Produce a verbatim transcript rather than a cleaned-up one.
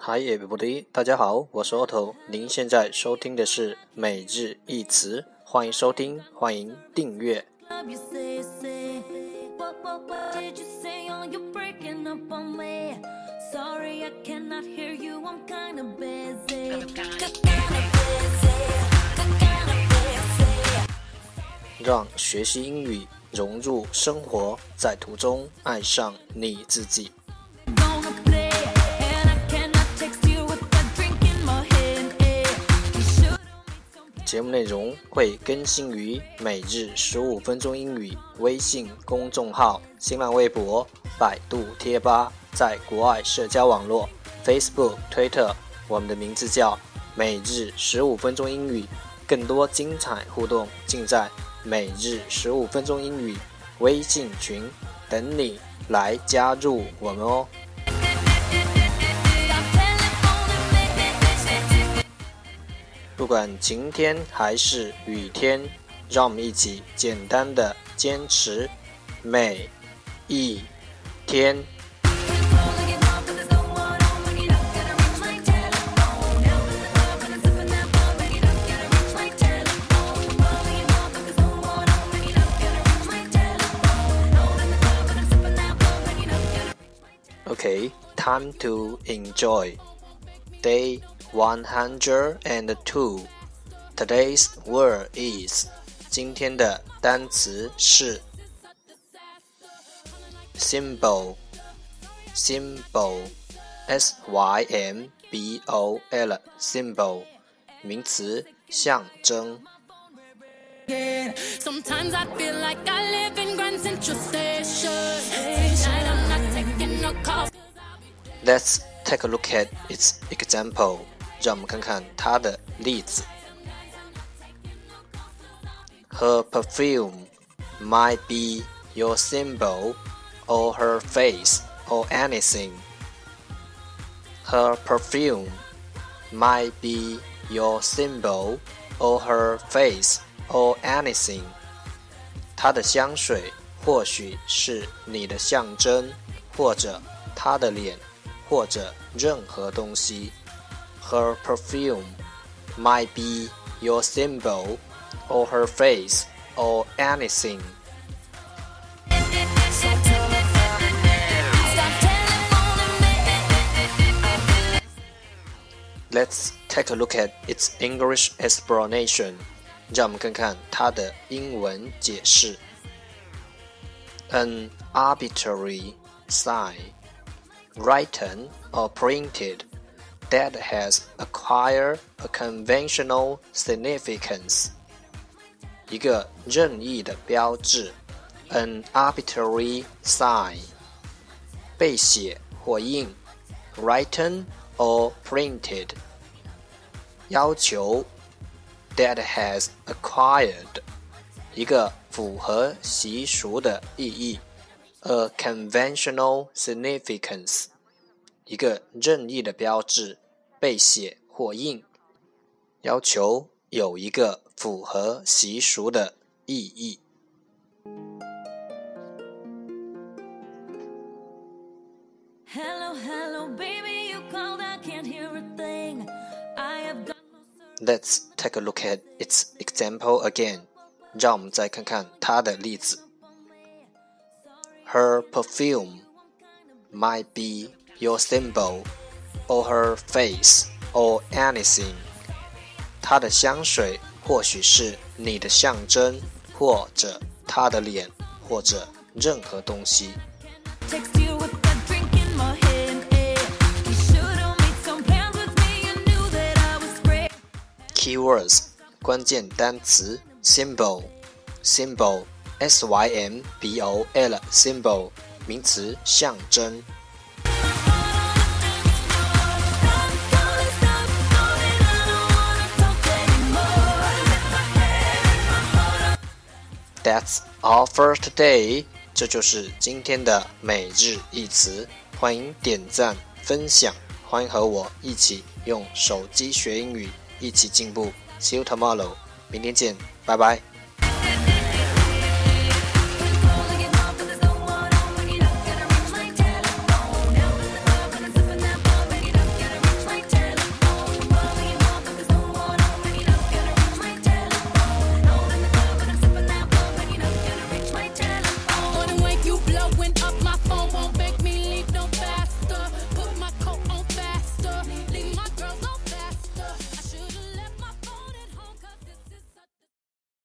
Hi everybody， 大家好，我是 Otto， 您现在收听的是每日一词，欢迎收听，欢迎订阅。让学习英语融入生活，在途中爱上你自己。节目内容会更新于每日十五分钟英语微信公众号、新浪微博、百度贴吧，在国外社交网络 Facebook、Twitter， 我们的名字叫每日十五分钟英语。更多精彩互动尽在每日十五分钟英语微信群，等你来加入我们哦。不管晴天还是雨天，让我们一起简单的坚持每一天。Okay, time to enjoy. Day one hundred two. Today's word is 今天的单词是 symbol. Symbol. S Y M B O L. Symbol. 名词象征。Sometimes I feel like I live in Grand Central Station. Tonight I'm not taking no calls. Let's take a look at its example. 让我们看看它的例子。Her perfume might be your symbol or her face or anything. Her perfume might be your symbol or her face or anything. 她的香水或许是你的象征，或者她的脸，或者任何东西。Her perfume might be your symbol or her face or anything. Let's take a look at its English explanation. 让我们看看它的英文解释。An arbitrary sign, written or printed, that has acquired a conventional significance. 一个任意的标志 An arbitrary sign. 被写或印 Written or printed. 要求 That has acquired. 一个符合习俗的意义 A conventional significance. 一个任意的标志被写或印，要求有一个符合习俗的意义。Hello, hello, baby, you called, I can't hear a thing. I have got no service. Let's take a look at its example again. 让我们再看看它的例子。Her perfume might be your symbol or her face or anything. 她的香水或许是你的象征，或者她的脸，或者任何东西。Keywords 关键单词 symbol symbol S Y M B O L symbol 名词象征。That's all for today. 这就是今天的每日一词。欢迎点赞分享，欢迎和我一起用手机学英语，一起进步。See you tomorrow. 明天见，拜拜。